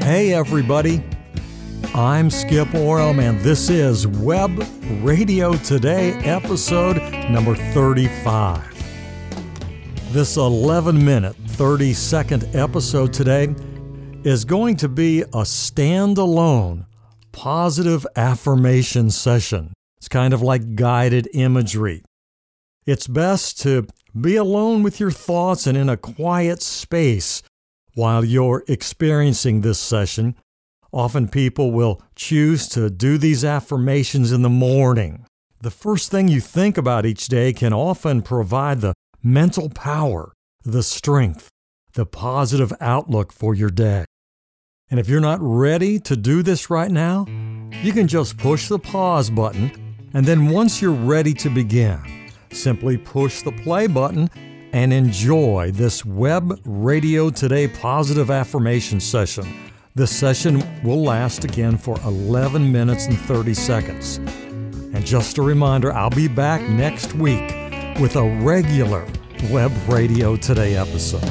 Hey everybody, I'm Skip Oram and this is Web Radio Today episode number 35. This 11-minute, 30-second episode today is going to be a standalone positive affirmation session. It's kind of like guided imagery. It's best to be alone with your thoughts and in a quiet space while you're experiencing this session. Often people will choose to do these affirmations in the morning. The first thing you think about each day can often provide the mental power, the strength, the positive outlook for your day. And if you're not ready to do this right now, you can just push the pause button, and then once you're ready to begin, simply push the play button and enjoy this Web Radio Today positive affirmation session. This session will last again for 11 minutes and 30 seconds. And just a reminder, I'll be back next week with a regular Web Radio Today episode.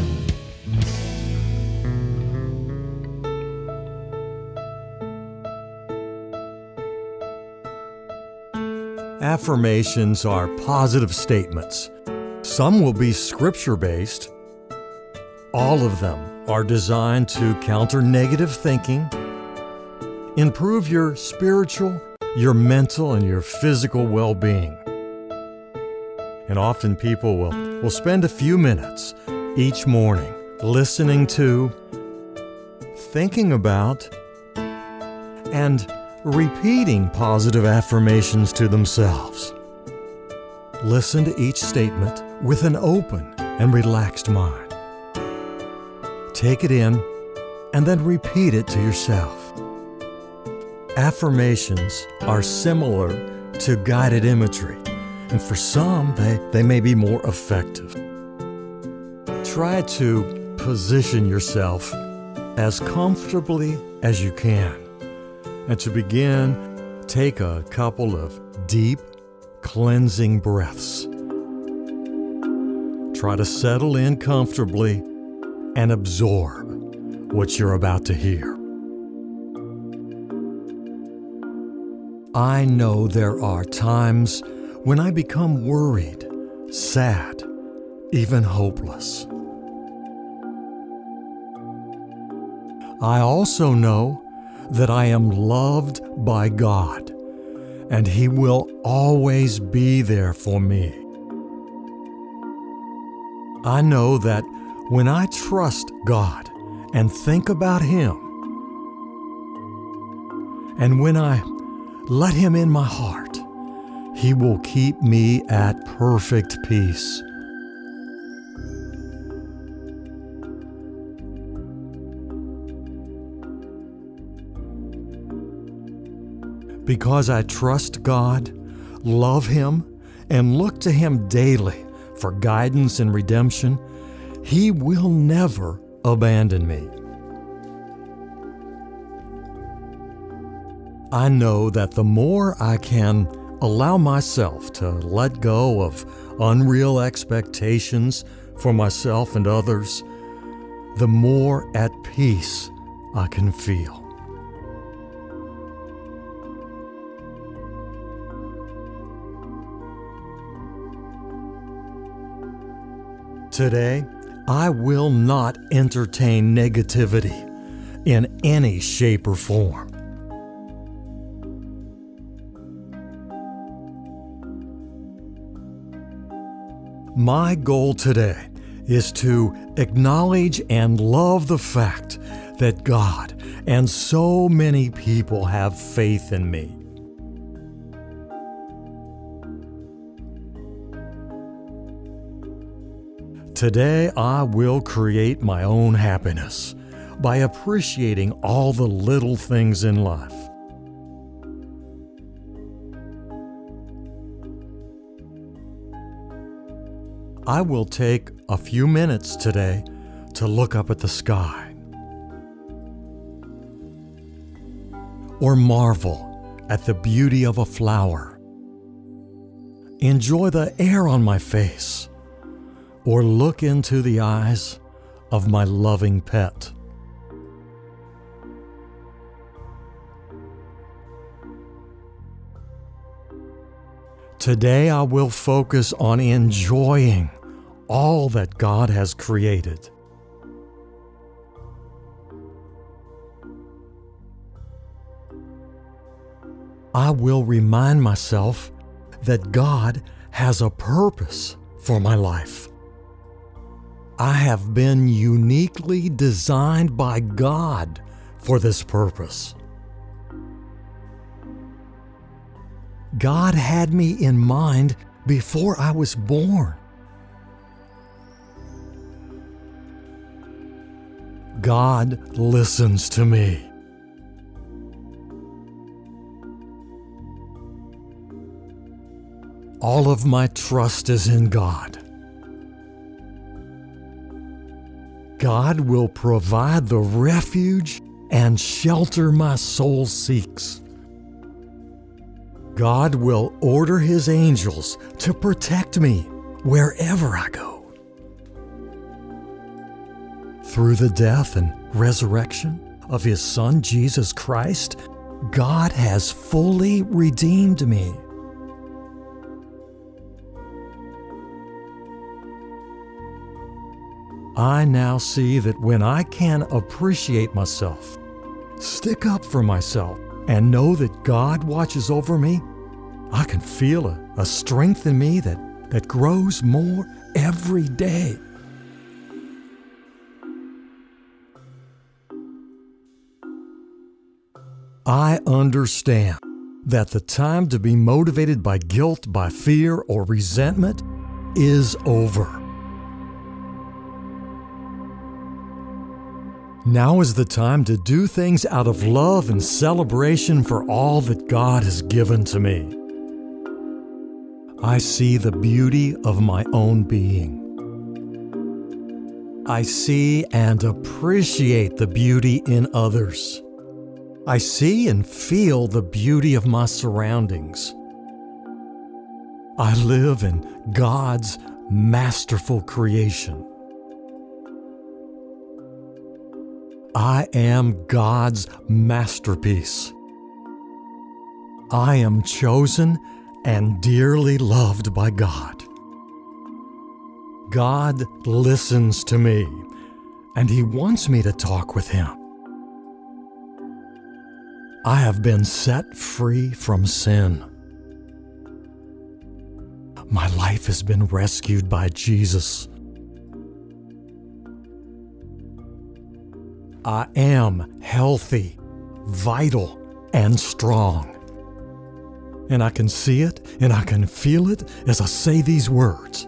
Affirmations are positive statements. Some will be scripture-based. All of them are designed to counter negative thinking, improve your spiritual, your mental, and your physical well-being. And often people will spend a few minutes each morning listening to, thinking about, and repeating positive affirmations to themselves. Listen to each statement with an open and relaxed mind. Take it in and then repeat it to yourself. Affirmations are similar to guided imagery, and for some, they may be more effective. Try to position yourself as comfortably as you can. And to begin, take a couple of deep, cleansing breaths. Try to settle in comfortably and absorb what you're about to hear. I know there are times when I become worried, sad, even hopeless. I also know that I am loved by God, and He will always be there for me. I know that when I trust God and think about Him, and when I let Him in my heart, He will keep me at perfect peace. Because I trust God, love Him, and look to Him daily for guidance and redemption, He will never abandon me. I know that the more I can allow myself to let go of unreal expectations for myself and others, the more at peace I can feel. Today, I will not entertain negativity in any shape or form. My goal today is to acknowledge and love the fact that God and so many people have faith in me. Today, I will create my own happiness by appreciating all the little things in life. I will take a few minutes today to look up at the sky or marvel at the beauty of a flower. Enjoy the air on my face or look into the eyes of my loving pet. Today I will focus on enjoying all that God has created. I will remind myself that God has a purpose for my life. I have been uniquely designed by God for this purpose. God had me in mind before I was born. God listens to me. All of my trust is in God. God will provide the refuge and shelter my soul seeks. God will order His angels to protect me wherever I go. Through the death and resurrection of His Son, Jesus Christ, God has fully redeemed me. I now see that when I can appreciate myself, stick up for myself, and know that God watches over me, I can feel a strength in me that grows more every day. I understand that the time to be motivated by guilt, by fear, or resentment is over. Now is the time to do things out of love and celebration for all that God has given to me. I see the beauty of my own being. I see and appreciate the beauty in others. I see and feel the beauty of my surroundings. I live in God's masterful creation. I am God's masterpiece. I am chosen and dearly loved by God. God listens to me, and He wants me to talk with Him. I have been set free from sin. My life has been rescued by Jesus. I am healthy, vital, and strong. And I can see it and I can feel it as I say these words.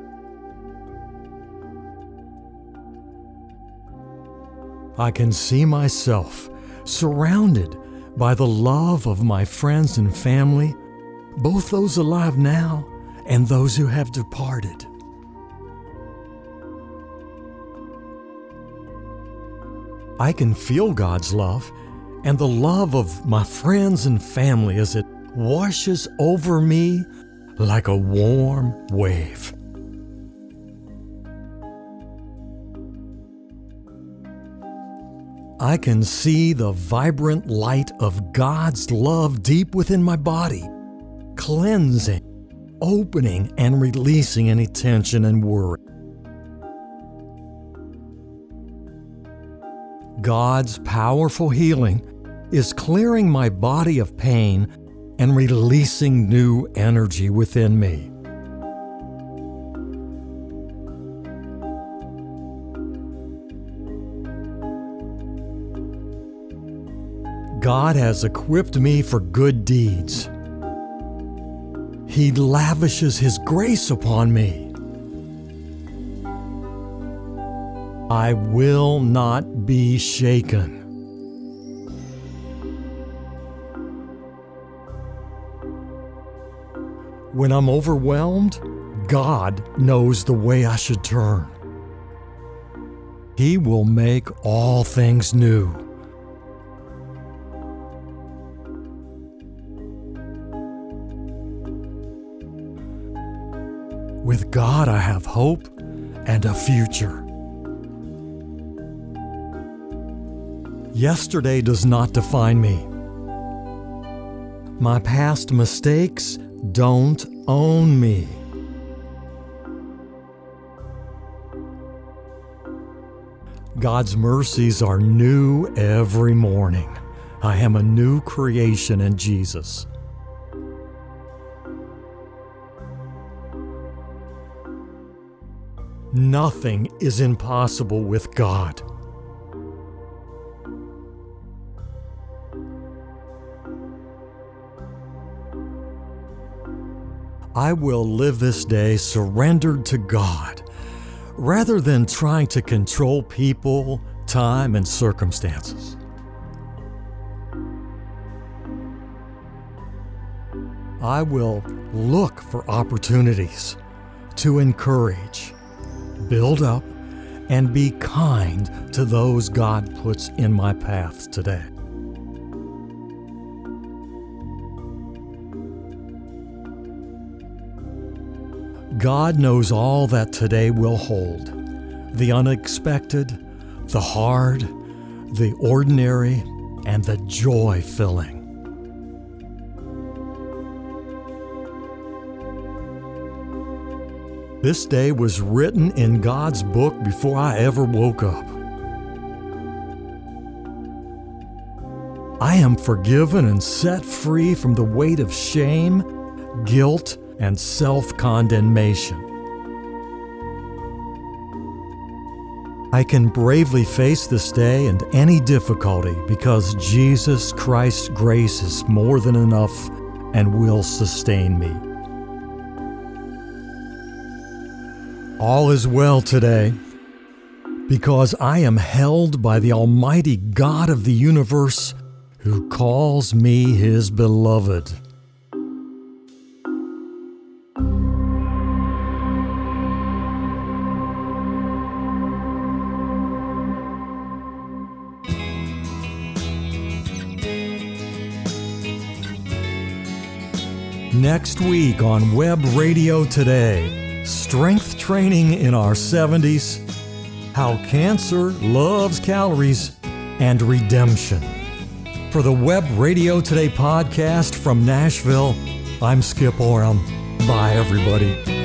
I can see myself surrounded by the love of my friends and family, both those alive now and those who have departed. I can feel God's love and the love of my friends and family as it washes over me like a warm wave. I can see the vibrant light of God's love deep within my body, cleansing, opening, and releasing any tension and worry. God's powerful healing is clearing my body of pain and releasing new energy within me. God has equipped me for good deeds. He lavishes His grace upon me. I will not be shaken. When I'm overwhelmed, God knows the way I should turn. He will make all things new. With God, I have hope and a future. Yesterday does not define me. My past mistakes don't own me. God's mercies are new every morning. I am a new creation in Jesus. Nothing is impossible with God. I will live this day surrendered to God, rather than trying to control people, time, and circumstances. I will look for opportunities to encourage, build up, and be kind to those God puts in my path today. God knows all that today will hold: the unexpected, the hard, the ordinary, and the joy-filling. This day was written in God's book before I ever woke up. I am forgiven and set free from the weight of shame, guilt, and self-condemnation. I can bravely face this day and any difficulty because Jesus Christ's grace is more than enough and will sustain me. All is well today because I am held by the Almighty God of the universe who calls me His beloved. Next week on Web Radio Today, strength training in our 70s, how cancer loves calories, and redemption. For the Web Radio Today podcast from Nashville, I'm Skip Oram. Bye, everybody.